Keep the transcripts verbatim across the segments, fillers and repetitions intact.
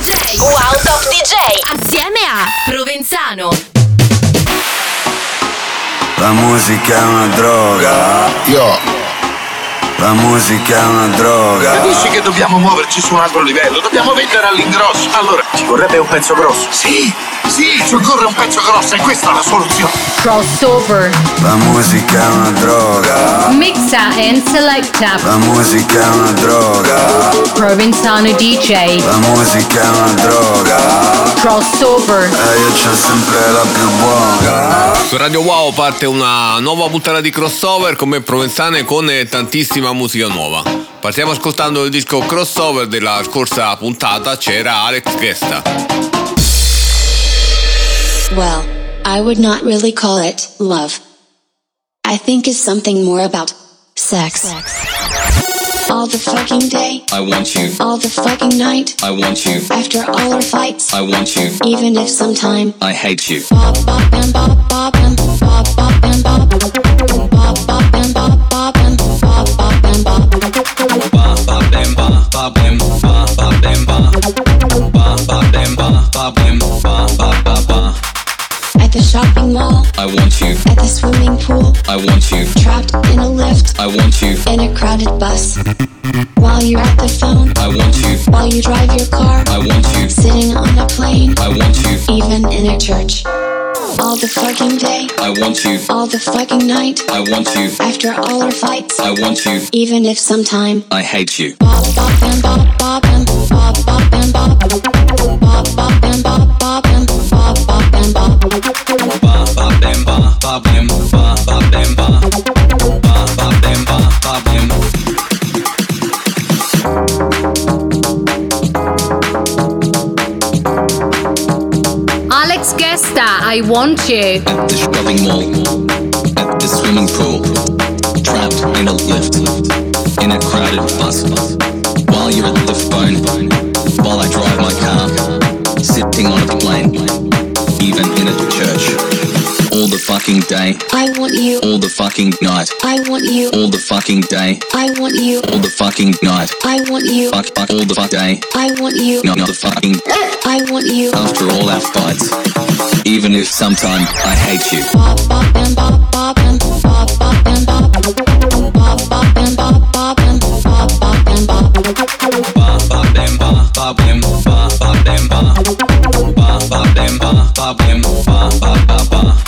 D J. Wow Top D J. Assieme a Provenzano. La musica è una droga. Yo. La musica è una droga. Capisci che dobbiamo muoverci su un altro livello? Dobbiamo vendere all'ingrosso. Allora, ci vorrebbe un pezzo grosso. Sì, sì, ci occorre un pezzo grosso e questa è la soluzione. Crossover. La musica è una droga. Mixa and selecta. La musica è una droga. Provenzano D J. La musica è una droga. Crossover. E io c'ho sempre la più buona. Su Radio Wow parte una nuova puntata di Crossover con me Provenzano e con tantissima musica nuova. Partiamo ascoltando il disco Crossover della scorsa puntata, c'era Alex Gesta. Well, I would not really call it love. I think it's something more about sex. All the fucking day, I want you. All the fucking night, I want you. After all our fights, I want you. Even if sometime I hate you. Bop bop and bop bop and bop bop and bop bop bop and bop bop and bop bop and bop bop bop and bop bop and bop bop and bop bop bop and bop bop and bop bop bop bop. At the shopping mall, I want you. At the swimming pool, I want you. Trapped in a lift, I want you. In a crowded bus, while you're at the phone, I want you. While you drive your car, I want you. Sitting on a plane, I want you. Even in a church. All the fucking day, I want you. All the fucking night, I want you. After all our fights, I want you. Even if sometime I hate you. Bop bop and bop bop and bop bop and bop bop bop and bop bop and bop bop and bop bop bop and bop bop and bop bop and bop bop bop and bop bop and. Alex Gesta, I want you. At the shopping mall, at the swimming pool, trapped in a lift, in a crowded bus, while you're at the phone, while I drive my car, sitting on a plane, even in a church, all the fucking day, I want you, all the fucking night, I want you, all the fucking day, I want you, all the fucking night, I want you, fuck, fuck, all the fuck day, I want you, not, not the fucking, I want you, after all our fights, even if sometime I hate you. Bop bop and bop bop and bop bop and bop bop bop and bop bop and bop bop and bop bop bop and bop bop and bop bop and bop bop bop and bop bop and bop bop bop bop.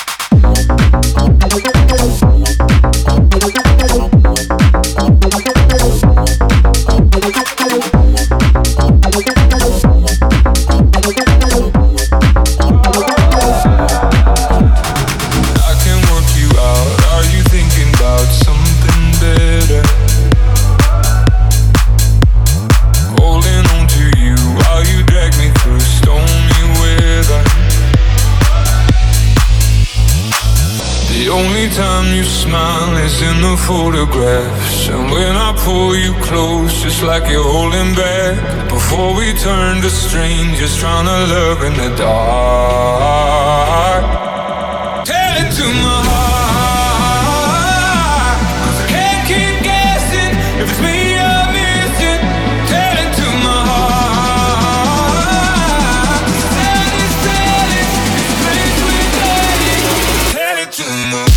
Time you smile is in the photographs, and when I pull you close, just like you're holding back. Before we turn to strangers, trying to love in the dark. Tell it to my heart, 'cause I can't keep guessing if it's me you're missing. Tell it to my heart, tell it, tell it, it's place we're heading. Tell it to my heart.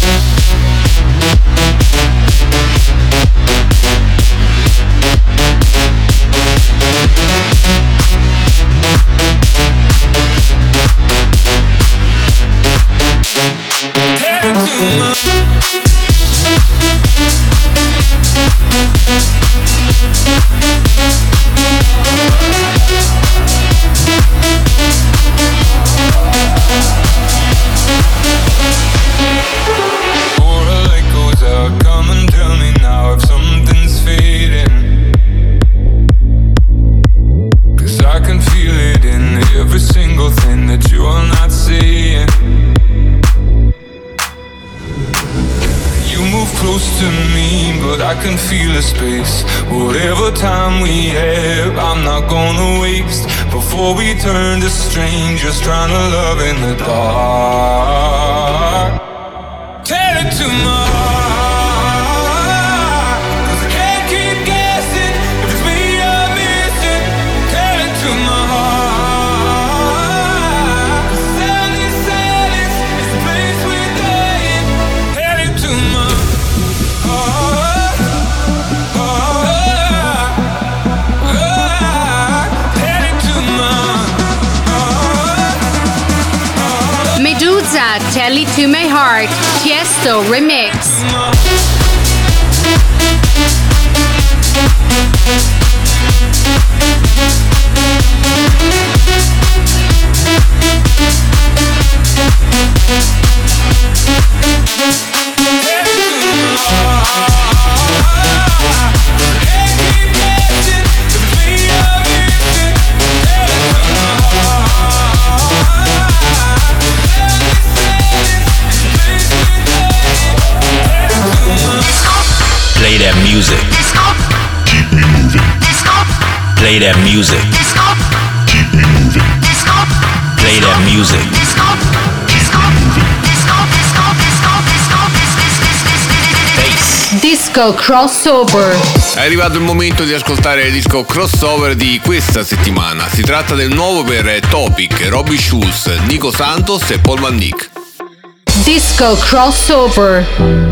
I can feel a space. Whatever time we have, I'm not gonna waste. Before we turn to strangers, trying to love in the dark. Tell it to my heart, 'cause I can't keep guessing if it's me you're missing. Tell it to my heart. Gesta, Tell It To My Heart, Tiesto Remix. Play that music. Keep me moving. Play that music. Keep me moving. Play that music. Disco Crossover. È arrivato il momento di ascoltare il disco crossover di questa settimana. Si tratta del nuovo per Topic, Robbie Schulz, Nico Santos e Paul Van Dyk. Disco Crossover.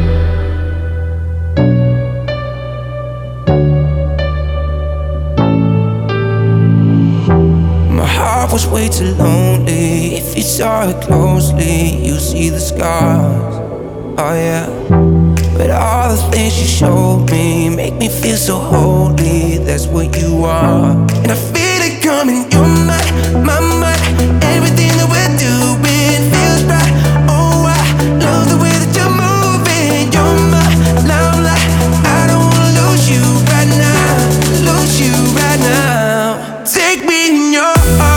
Was way too lonely. If you saw it closely, you see the scars. Oh yeah. But all the things you showed me make me feel so holy. That's what you are. And I feel it coming. You're my, my, my. Everything that we're doing feels right. Oh, I love the way that you're moving. You're my limelight. I don't wanna lose you right now. Lose you right now. Take me in your arms.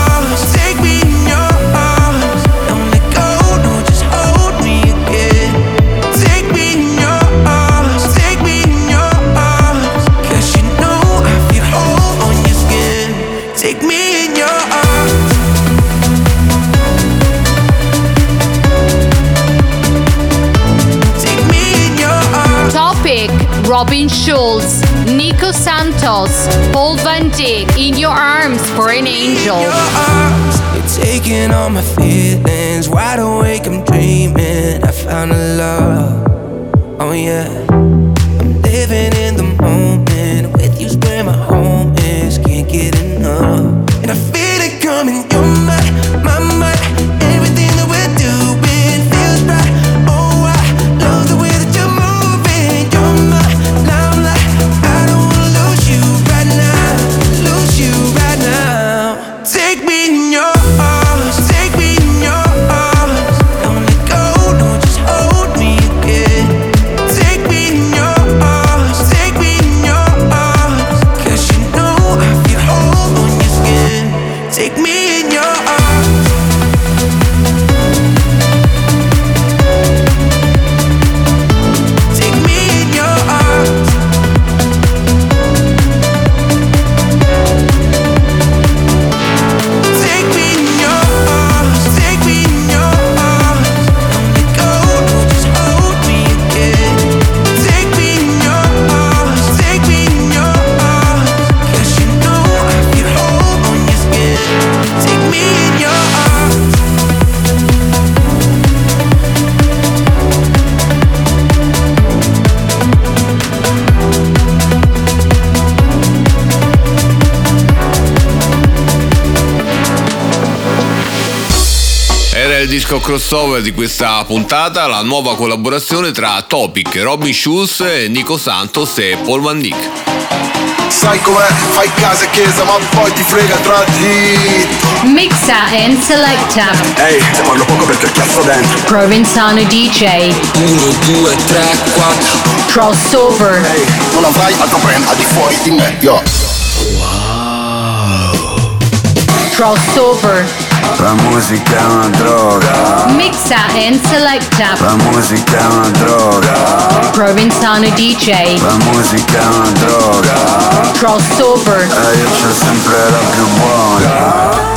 Robin Schulz, Nico Santos, Paul Van Dyk, In Your Arms for an Angel. You're taking all my feelings, wide awake I'm dreaming, I found a love, oh yeah. I'm living in the moment, with you's where my home is, can't get enough. And I feel it coming, you're my, my, my, everything that we're doing feels right. Oh, I love the way that you're moving, you're my limelight. I don't wanna lose you right now, lose you right now. Take me in your arms, take me in your arms. Don't let go, no, just hold me again. Take me in your arms, take me in your arms. 'Cause you know I feel whole on your skin. Take me in your arms. Take me in your arms. Take me in your arms, take me in your arms. Don't let go, no, just hold me again. Take me in your arms, take me in your arms. 'Cause you know I feel whole on your skin. Take me in your arms. Era il disco crossover di questa puntata, la nuova collaborazione tra Topic, Robin Schulz, Nico Santos e Paul Van Dyk. Sai com'è? Fai casa e chiesa ma poi ti frega tra di... Mixa and selecta. Ehi, te parlo poco perché cazzo dentro. Provenzano D J. uno, due, tre, quattro. Crossover. Ehi, non avrai altro brand al di fuori di me, yo. Crossover. La musica è una droga. Mixa and selecta. La musica è una droga. Provenzano D J. La musica è una droga. Crossover. E io c'ho sempre la più buona.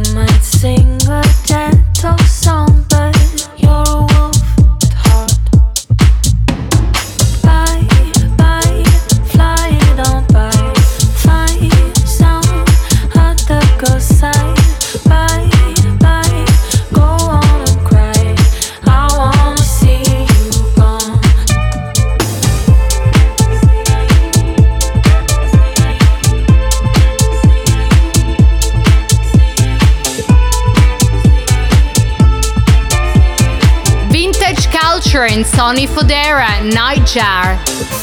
Sing a gentle song, but you're a wolf at heart. and Sonny Fodera, Nightjar.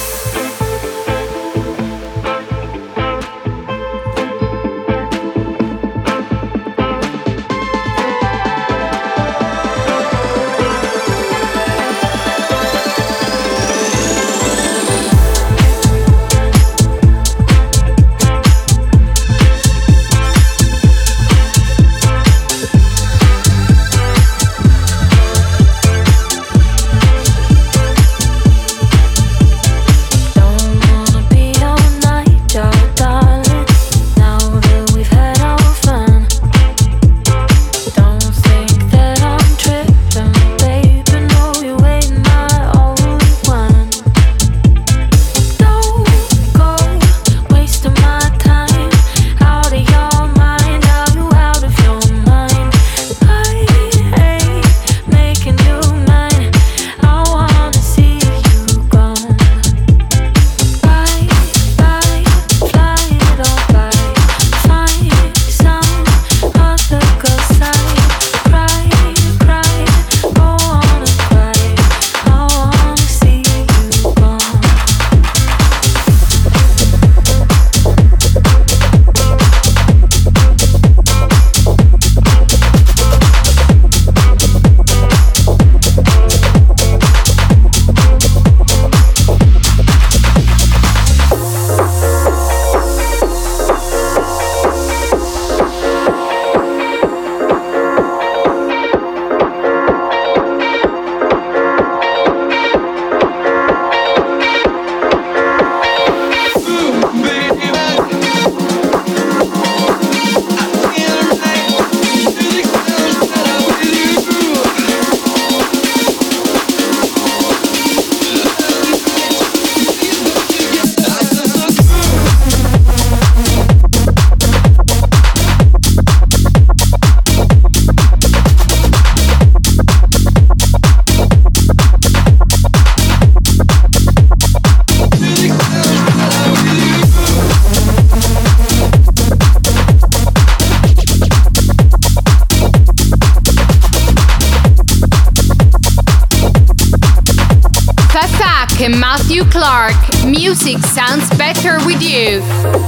And Matthew Clark, music sounds better with you.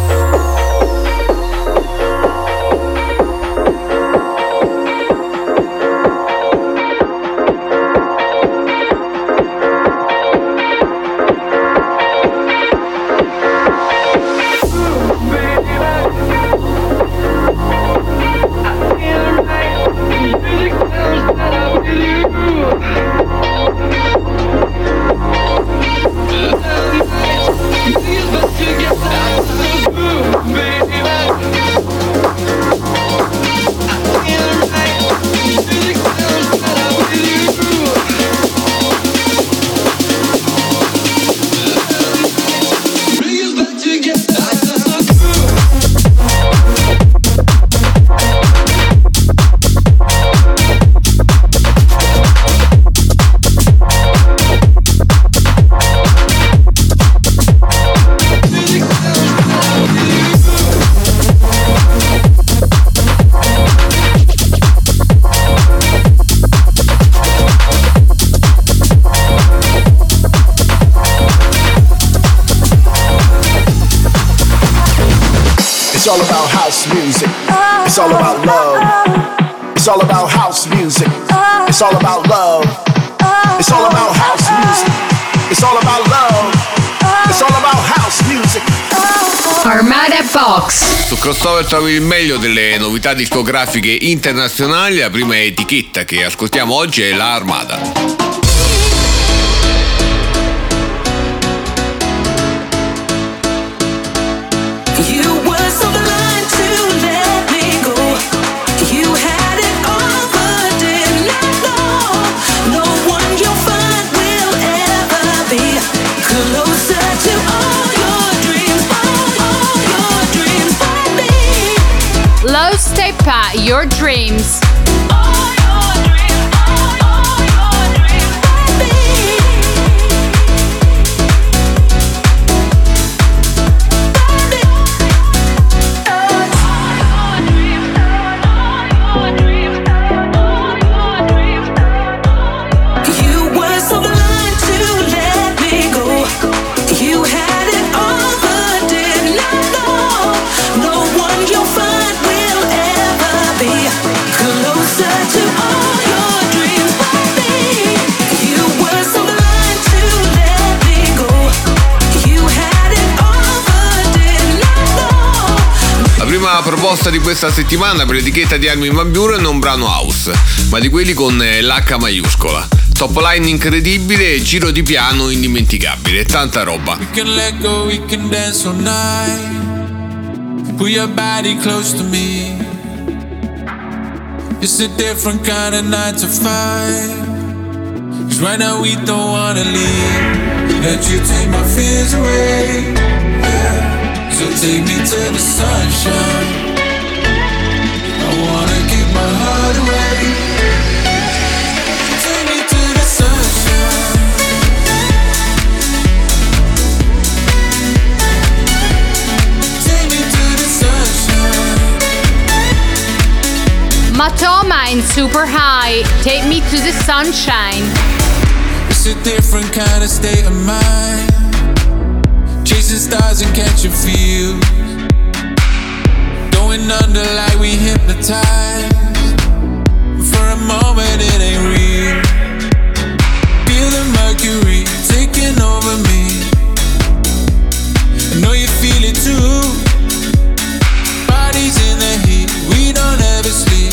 It's all about house music. It's all about love. It's all about house music. It's all about love. It's all about house music. It's all about love. It's all about house music. Armada Box. Su Crossover trovi il meglio delle novità discografiche internazionali. La prima etichetta che ascoltiamo oggi è la Armada. Low Steppa, your dreams. You were so blind. proposta di questa settimana per l'etichetta di Armin van Buuren è un brano house, ma di quelli con l'H maiuscola. Top line incredibile, giro di piano indimenticabile, tanta roba. We can let go, we can dance all night. Put your body close to me. It's a different kind of nine to five. Cause right now we don't wanna leave. Let you take my fears away, yeah. So take me to the sunshine. I wanna give my heart away. Take me to the sunshine. Take me to the sunshine. Matoma in Super High, Take Me to the Sunshine. It's a different kind of state of mind. Chasing stars and catching feels. Going under like we hypnotized. For a moment it ain't real. Feel the mercury taking over me. I know you feel it too. Bodies in the heat, we don't ever sleep.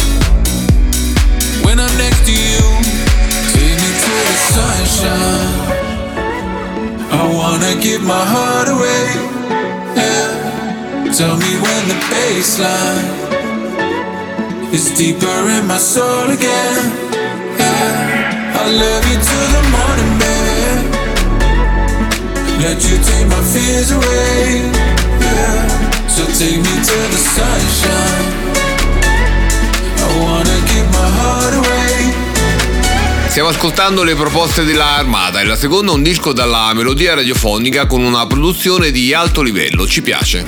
When I'm next to you, take me to the sunshine. I wanna give my heart away, yeah. Tell me when the baseline is deeper in my soul again, yeah. I love you till the morning, babe. Let you take my fears away, yeah. So take me to the sunshine. I wanna give my heart away. Stiamo ascoltando le proposte della Armada e la seconda è un disco dalla melodia radiofonica con una produzione di alto livello, ci piace.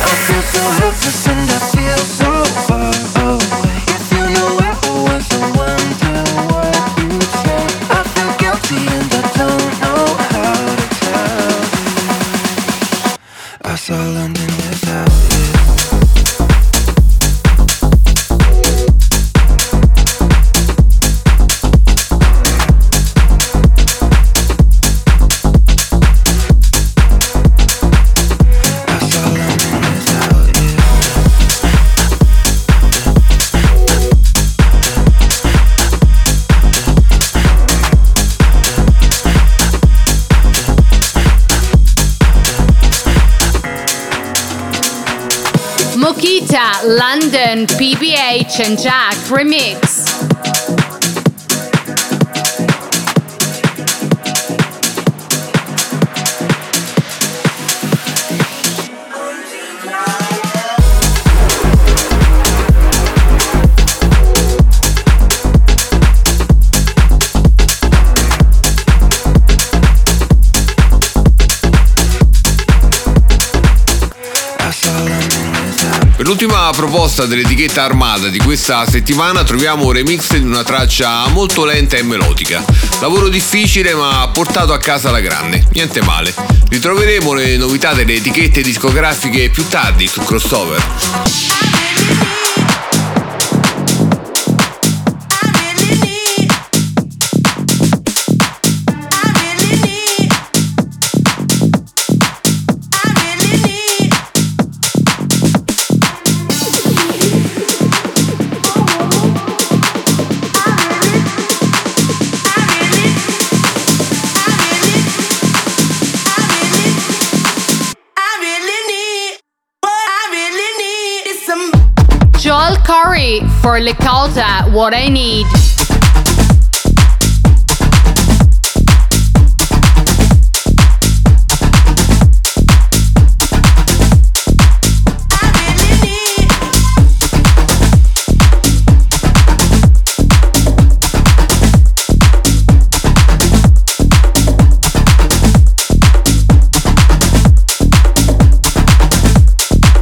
Mokita, London, P B H and Jack remix. Per l'ultima proposta dell'etichetta Armada di questa settimana troviamo un remix di una traccia molto lenta e melodica. Lavoro difficile ma portato a casa alla grande, niente male. Ritroveremo le novità delle etichette discografiche più tardi su Crossover. Joel Corey for Lakota, What I Need.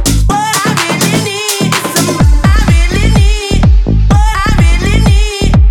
What I really need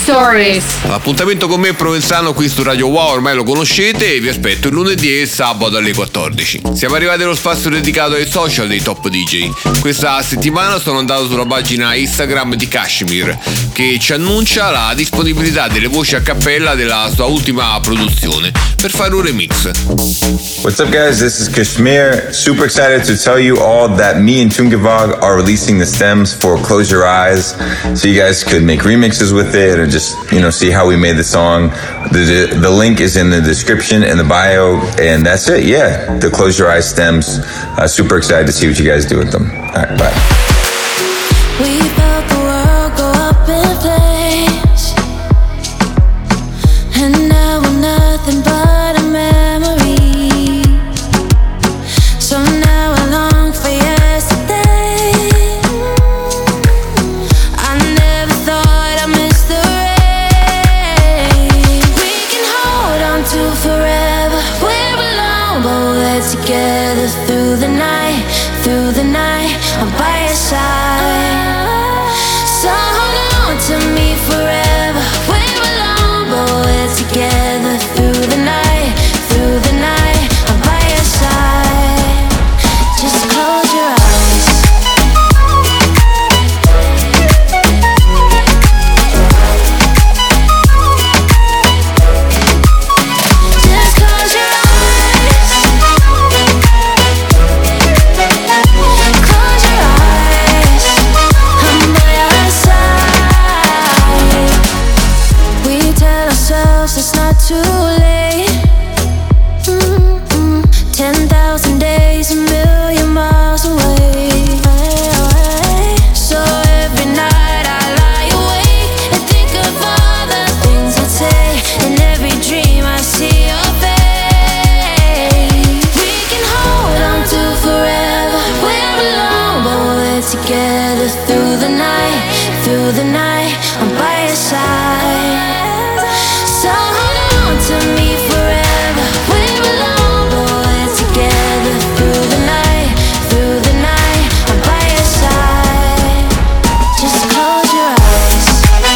Stories. L'appuntamento con me è Provenzano qui su Radio Wow, ormai lo conoscete, e vi aspetto il lunedì e il sabato alle quattordici. Siamo arrivati allo spazio dedicato ai social dei top D J. Questa settimana sono andato sulla pagina Instagram di Kashmir, che ci annuncia la disponibilità delle voci a cappella della sua ultima produzione per fare un remix. What's up guys, this is Kashmir. Super excited to tell you all that me and Tungevag are releasing the stems for Close Your Eyes, so you guys could make remixes with it or just, you know, see how we made the song. The, the, the link is in the description and the bio, and that's it, yeah. The Close Your Eyes stems. Uh, super excited to see what you guys do with them. Alright, bye. We felt the world go up in flames, and now we're nothing but a memory. So now I long for yesterday. I never thought I'd miss the rain. We can hold on to forever. We're alone, but we're together through the night, through the night. I'm by your side. So hold on to me forever. We're alone, but we're together through the night, through the night. I'm by your side. Just close your eyes. Just close your eyes. Close your eyes. I'm by your side. We tell ourselves it's not too late. Mm-mm. Ten thousand days, a million miles away. So every night I lie awake and think of all the things I'd say. In every dream I see your face. We can hold on to forever. We're alone, but we're together through the night, through the night. I'm by your side. So hold on to me forever. We're alone, but we're together through the night, through the night. I'm by your side. Just close your eyes.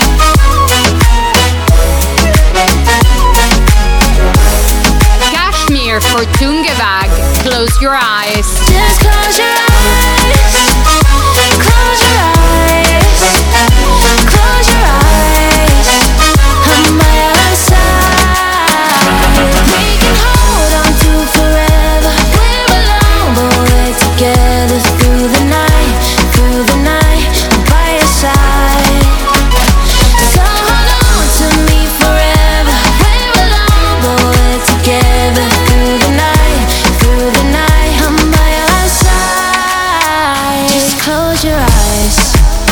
Kashmir for Tungevag. Close your eyes. Just close your eyes. Close your eyes. Close your eyes. I'm by your side. We can hold on to forever. We're alone, but we're together through the night, through the night. I'm by your side. So hold on to me forever. We're alone, but we're together through the night, through the night. I'm by your side. Just close your eyes.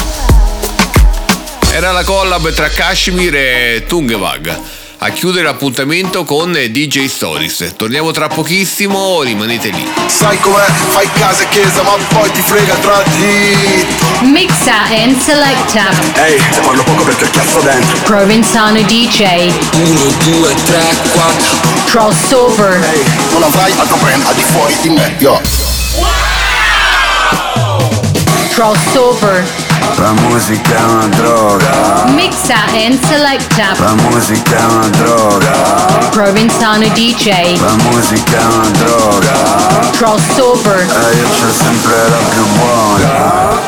Era la collab tra Kashmir e Tungevag a chiudere l'appuntamento con D J Stories. Torniamo tra pochissimo, rimanete lì. Sai com'è? Fai casa e chiesa, ma poi ti frega tra di. Mixa and selecta. Ehi, te parlo poco perché ho chiasso dentro. Provenzano D J. uno, due, tre, quattro. Crossover. Ehi, non avrai altro brand al di fuori di me, yo. Crossover. La musica è una droga. Mixa and selecta. La musica è una droga. Provenzano D J. La musica è una droga. Crossover. E io c'ho sempre la più buona.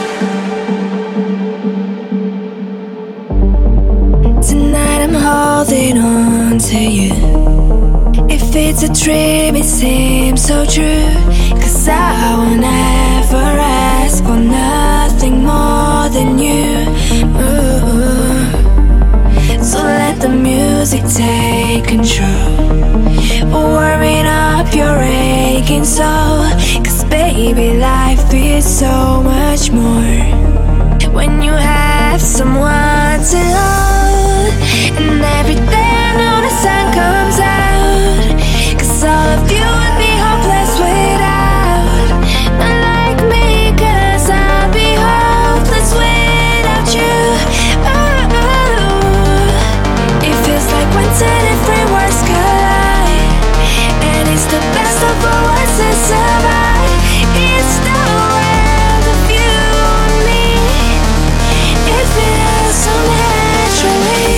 Tonight I'm holding on to you. If it's a dream, it seems so true. Cause I will never ask for nothing more than you. Ooh. So let the music take control. Warming up your aching soul. Cause baby, life is so much more when you have someone to hold. And every day I know the sun comes out. Cause all of you would be hopeless without. Not like me, cause I'll be hopeless without you. Oh, oh. It feels like when ten different worlds collide, and it's the best of all worlds that survive. It's the world of you and me. It feels so natural.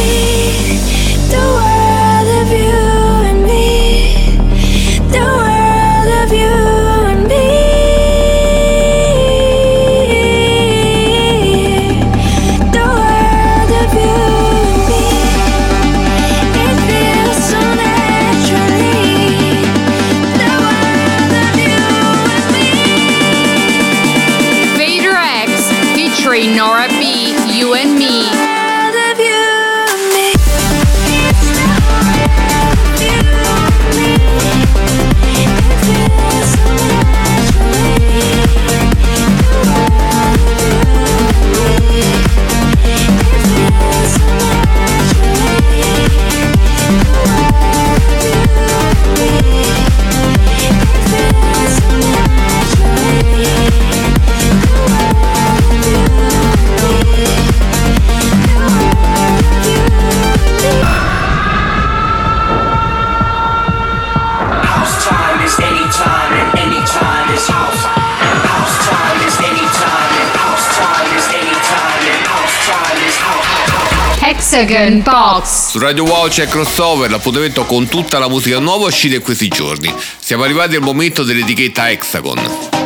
Hexagon Box. Su Radio Wow c'è Crossover, l'appuntamento con tutta la musica nuova uscita in questi giorni. Siamo arrivati al momento dell'etichetta Hexagon.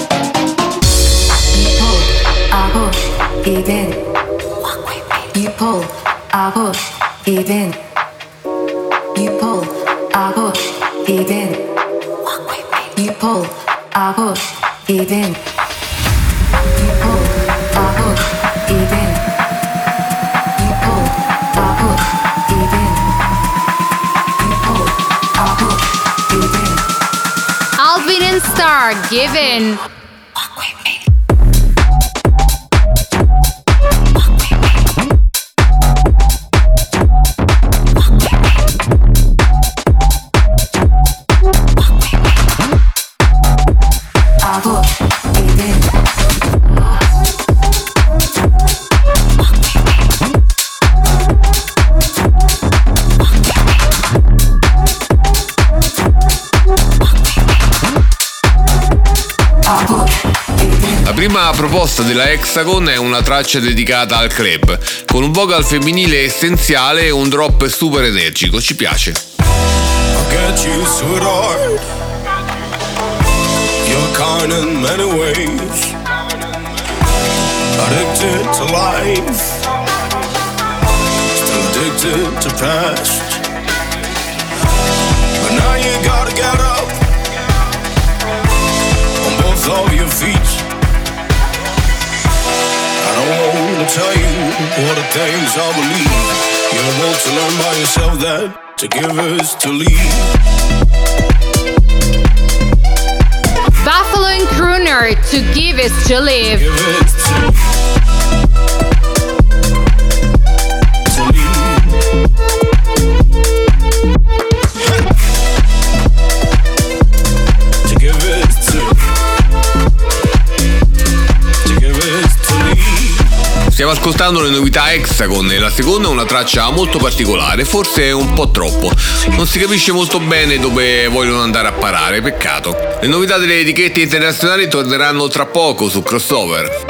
Even. You pull, I push, even. You pull, I push, even. You pull, I push, even. You pull, I push, even. You pull, I push, even. You pull, I push, even. Alvin and Star, Given. La prima proposta della Hexagon è una traccia dedicata al club, con un vocal femminile essenziale e un drop super energico, ci piace. I get you, sweetheart. You're kind in many ways. Addicted to life. Still addicted to past. But now you gotta get up on both of your feet. I don't wanna tell you all the things I believe. You want to learn by yourself that to give is to leave. Buffalo and Crooner, To Give Is To Live. Give is to, to leave. To give is to, to give is to leave. Stiamo ascoltando le novità Hexagon e la seconda è una traccia molto particolare, forse un po' troppo. Non si capisce molto bene dove vogliono andare a parare, peccato. Le novità delle etichette internazionali torneranno tra poco su Crossover.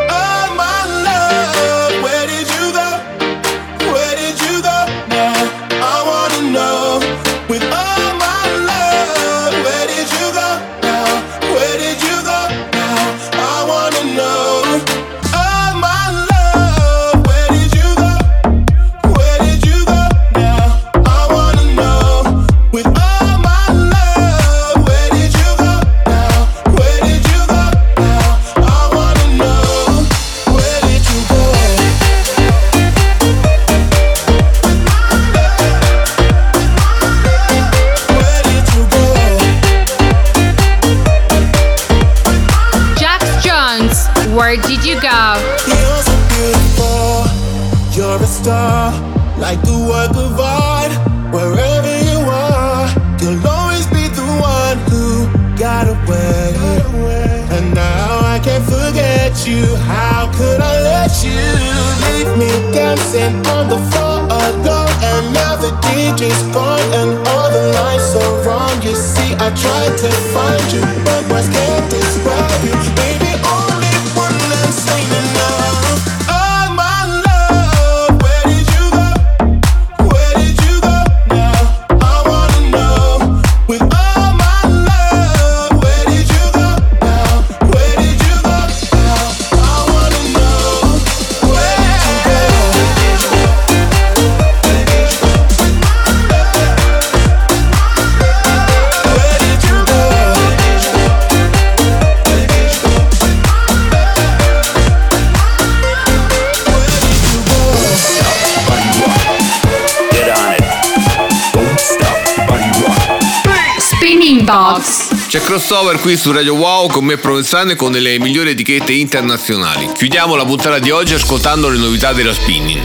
Where did you go? You're so beautiful, you're a star, like the work of art. Wherever you are, you'll always be the one who got away. And now I can't forget you. How could I let you leave me dancing on the floor alone? And now the D J's gone and all the lights are wrong. You see, I tried to find you, but words can't describe you, baby. Saying enough. Oh my love, where did you go? Where did you go now? I wanna know. With all my love, where did you go now? Where did you go now? I wanna know. Where did you go? Where did you go? Spinning Box. C'è Crossover qui su Radio Wow con me Provenzano e con le migliori etichette internazionali. Chiudiamo la puntata di oggi ascoltando le novità della Spinning.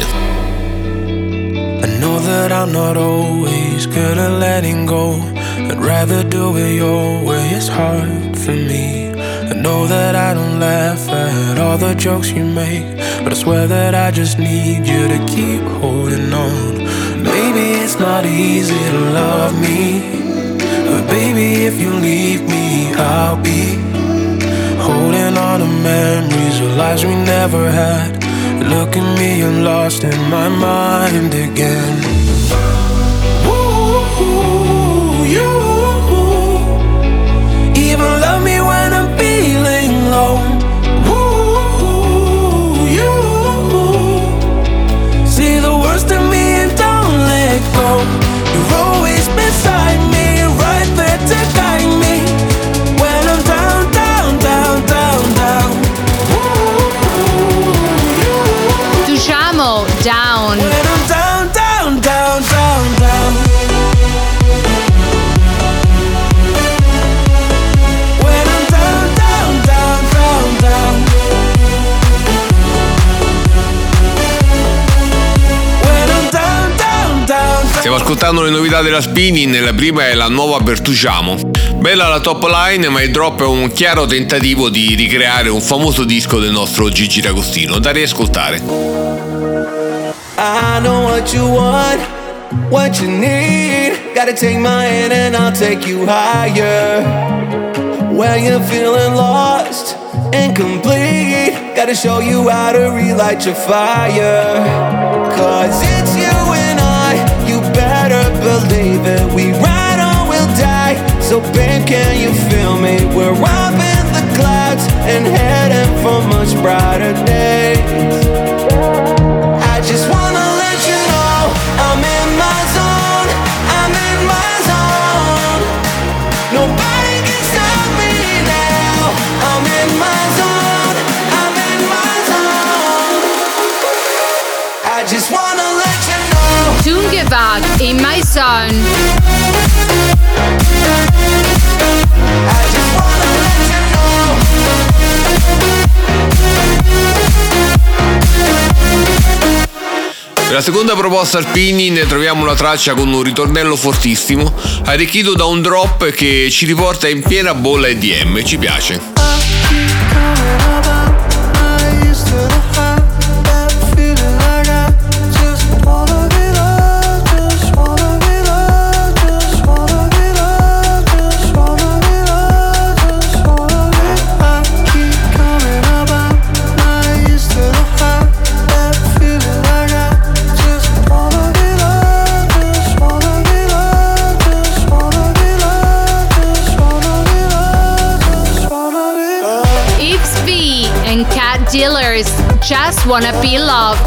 I know that I'm not always good at letting go. I'd rather do it your way, it's hard for me. I know that I don't laugh at all the jokes you make, but I swear that I just need you to keep holding on. Maybe it's not easy to love me, but baby, if you leave me, I'll be holding on to memories of lives we never had, Look at me, I'm lost in my mind again. Ooh, you even love me when I'm feeling low. Ooh, you see the worst in me and don't let go. You're always beside me, right there to guide me when I'm down, down, down, down, down. Touchiamo down. When I'm down, down, down, down, down. When I'm down, down, down, down, down. When I'm down, down, down. Stiamo ascoltando le novità della Spinning, la prima è la nuova Pertusiamo. Bella la top line, ma il drop è un chiaro tentativo di ricreare un famoso disco del nostro Gigi D'Agostino, da riascoltare. I know what you want, what you need. Gotta take my hand and I'll take you higher. When you're feeling lost and complete, gotta show you how to relight your fire. Cause it's you and I, you better believe it. We ride or we'll die, so babe, can you feel me? We're up in the clouds and heading for much brighter days. I just wanna let you know I'm in my zone, I'm in my zone. Nobody can stop me now. I'm in my zone, I'm in my zone. I just wanna let you know. Tungevag in my zone. I just wanna let you know. Per la seconda proposta Spinning ne troviamo una traccia con un ritornello fortissimo, arricchito da un drop che ci riporta in piena bolla E D M, ci piace. Dealers just wanna be loved.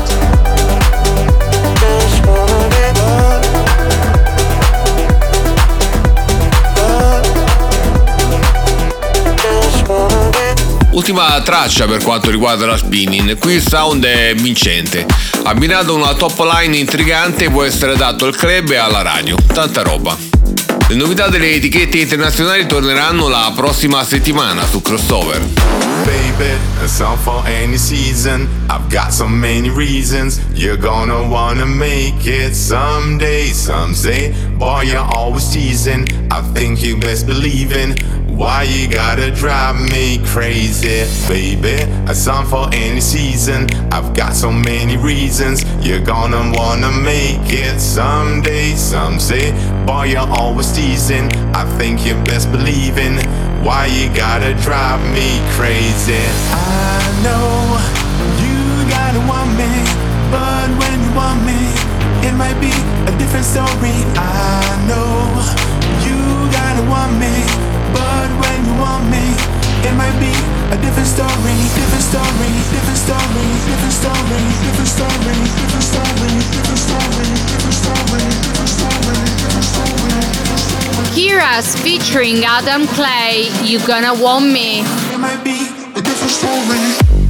Ultima traccia per quanto riguarda la Spinning, qui il sound è vincente. Abbinato a una top line intrigante può essere adatto al club e alla radio, tanta roba. Le novità delle etichette internazionali torneranno la prossima settimana su Crossover. Baby, a song for any season. I've got so many reasons. You're gonna wanna make it someday, some say. Boy, you're always teasing. I think you best believe in. Why you gotta drive me crazy, baby? A song for any season. I've got so many reasons. You're gonna wanna make it someday, some say. Boy, you're always teasing. I think you best believe in. Why you gotta drive me crazy? I know you gotta want me, but when you want me, it might be a different story. I know you gotta want me, but when you want me, it might be a different story, different story, different story, different story, different story, different story, different story, different story, different story, different story. Kiras featuring Adam Clay, You Gonna Want Me. It might be a different story.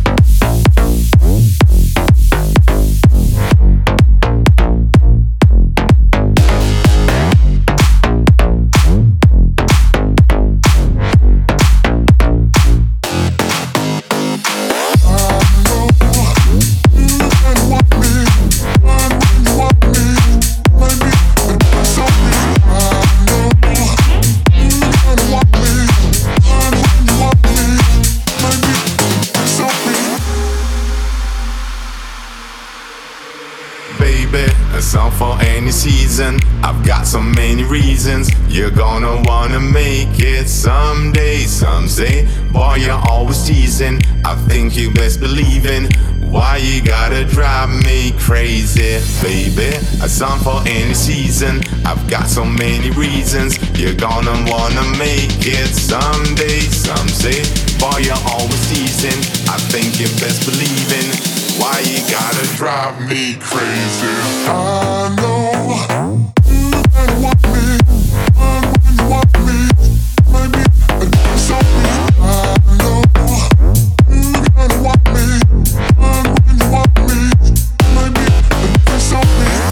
Season. I've got so many reasons. You're gonna wanna make it someday, some say. Boy, you're always teasing. I think you best believe in. Why you gotta drive me crazy, baby? A song for any season. I've got so many reasons. You're gonna wanna make it someday. Some say, boy, you're always teasing. I think you're best believing. Why you gotta drive me crazy? I know you gotta want me. When you want me, maybe I do something. I know you gotta want me. When you want me, maybe I do something.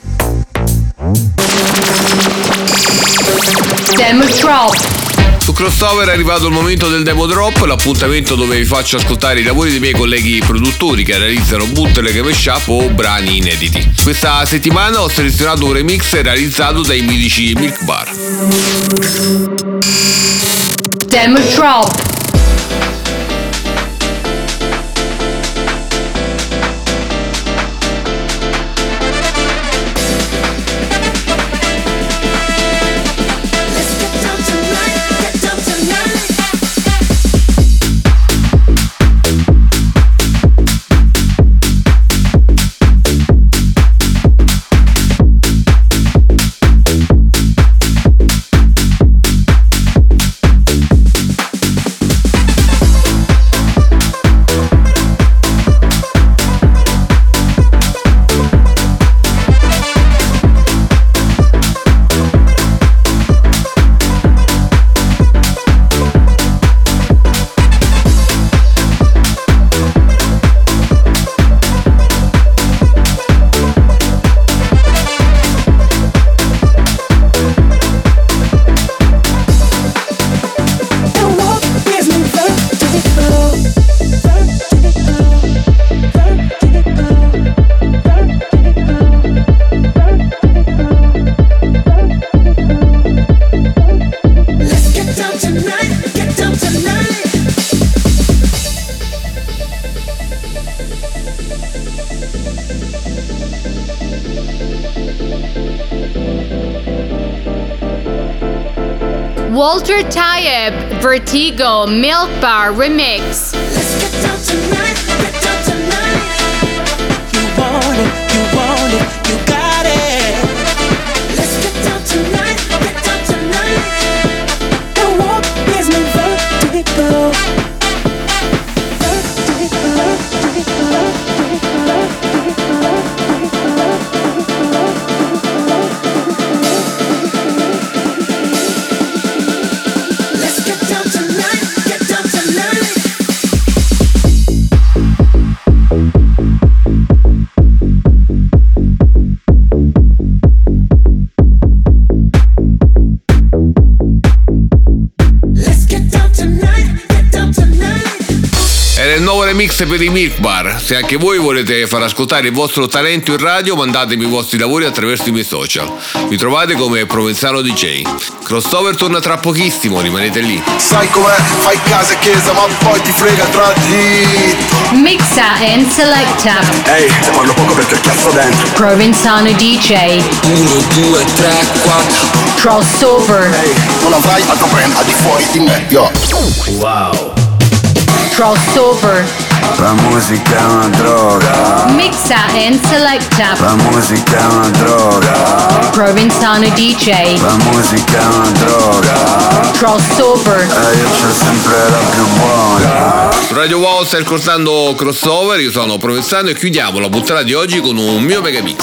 Demo drop. Su Crossover è arrivato il momento del demo drop, l'appuntamento dove vi faccio ascoltare i lavori dei miei colleghi produttori che realizzano bootleg, mashup o brani inediti. Questa settimana ho selezionato un remix realizzato dai mitici Milk Bar. Demo drop. Walter Tayeb, Vertigo, Milk Bar Remix. Let's get down tonight, get down tonight. You want it, you want it, you got it. Let's get down tonight, get down tonight. The walk is my vertigo. Il nuovo remix per i Milk Bar. Se anche voi volete far ascoltare il vostro talento in radio, mandatemi i vostri lavori attraverso i miei social. Mi trovate come Provenzano D J. Crossover torna tra pochissimo, rimanete lì. Sai com'è? Fai casa e chiesa, ma poi ti frega tra di. Mixa and selecta. Ehi, hey, parlo poco perché ho chiasso dentro. Provenzano D J. uno, due, tre, quattro. Crossover. Ehi, hey, non avrai altro brand al di fuori di me, yo. Wow. Crossover. La musica è una droga. Mixa and selecta. La musica è una droga. Provenzano D J. La musica è una droga. Crossover. E io c'ho sempre la più buona. Su Radio Wow stai ascoltando Crossover, io sono Provenzano e chiudiamo la puntata di oggi con un mio mega mix.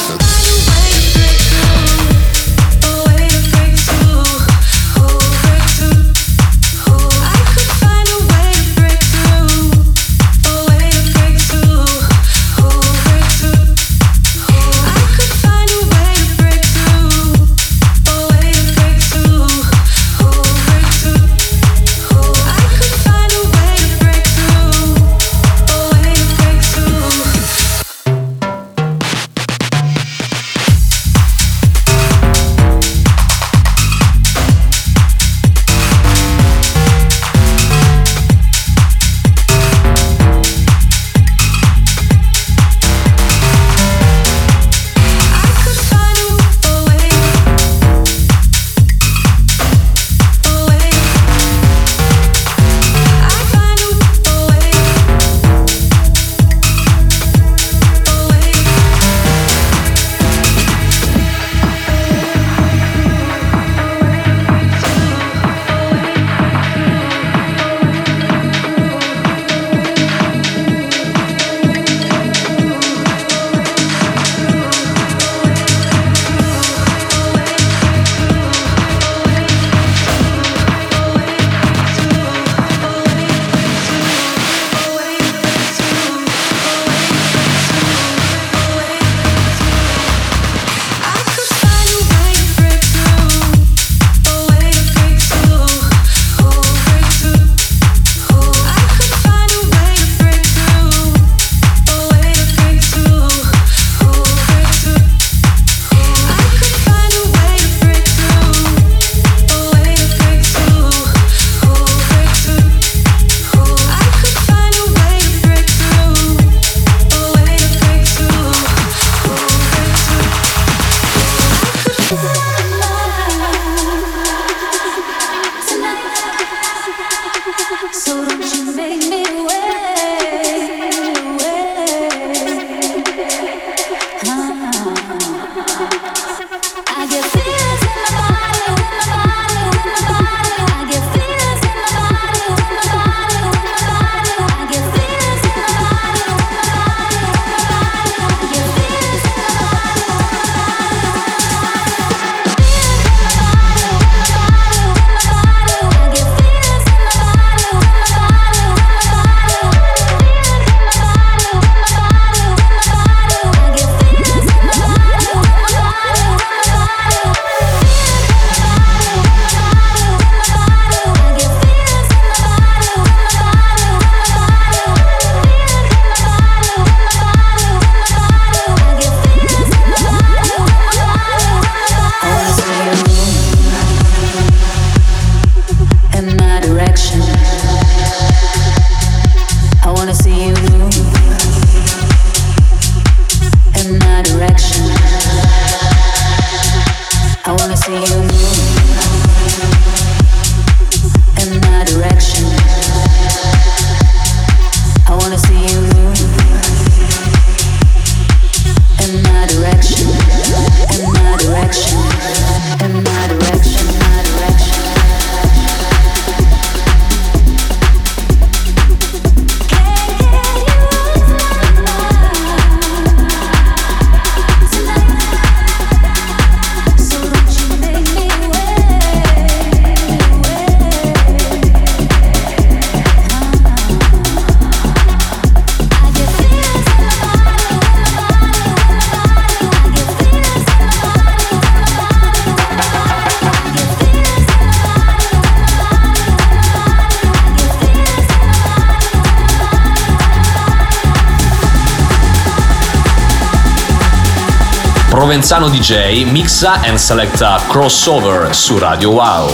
Provenzano D J mixa and selecta Crossover su Radio Wow.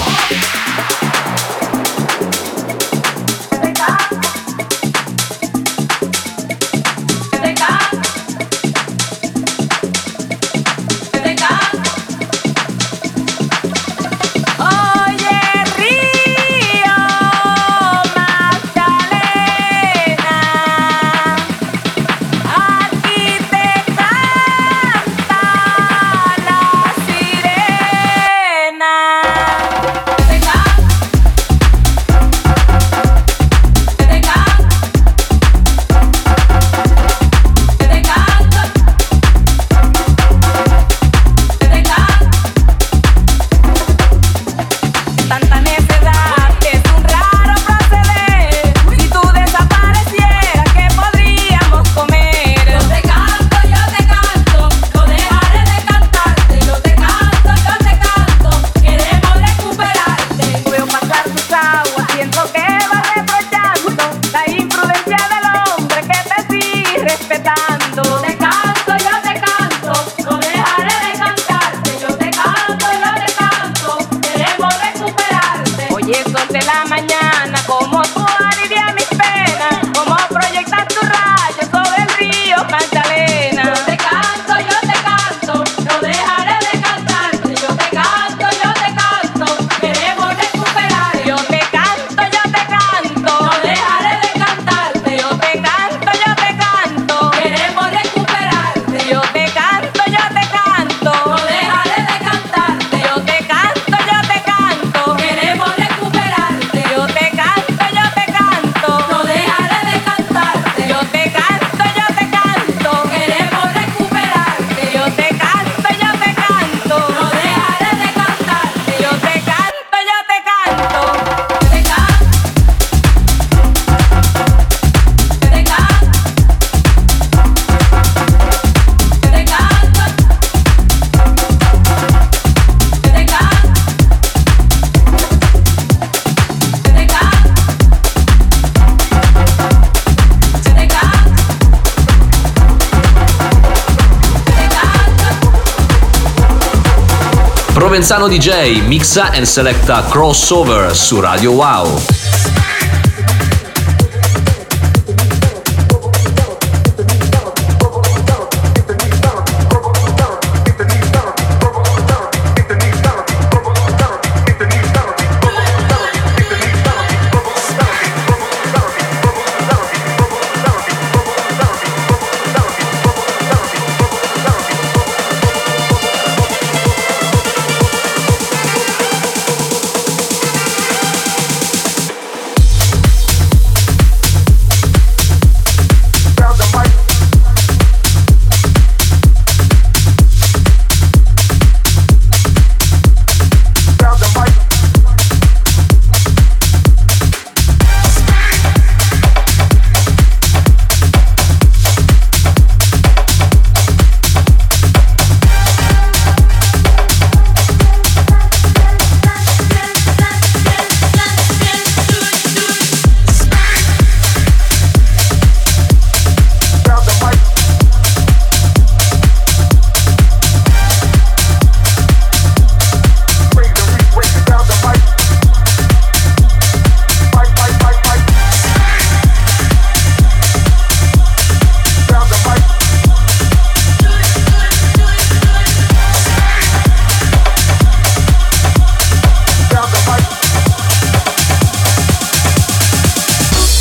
Provenzano D J mixa and selecta Crossover su Radio Wow.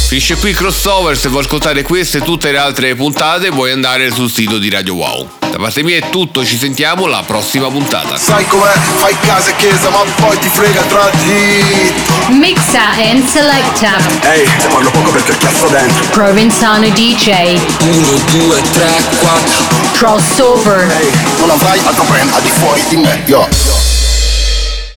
Finisce qui Crossover. Se vuoi ascoltare queste e tutte le altre puntate puoi andare sul sito di Radio Wow. Da parte mia è tutto, ci sentiamo alla prossima puntata. Sai com'è, fai casa e chiesa ma poi ti frega tra di Mixa and selecta. Ehi, hey, te parlo poco perché cazzo dentro Provenzano D J. Uno, due, tre, quattro Crossover. Ehi, hey, non avrai altro brand al di fuori di me, yo.